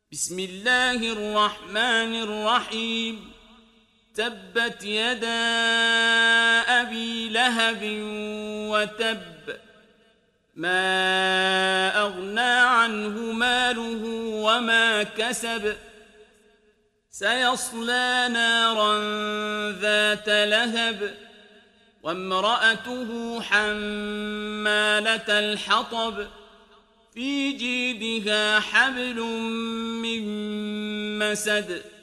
بسم الله الرحمن الرحيم. تبت يدا أبي لهب وتب، ما أغنى عنه ماله وما كسب، سيصلى نارا ذات لهب وامرأته حمالة الحطب في جيدها حبل من مسد.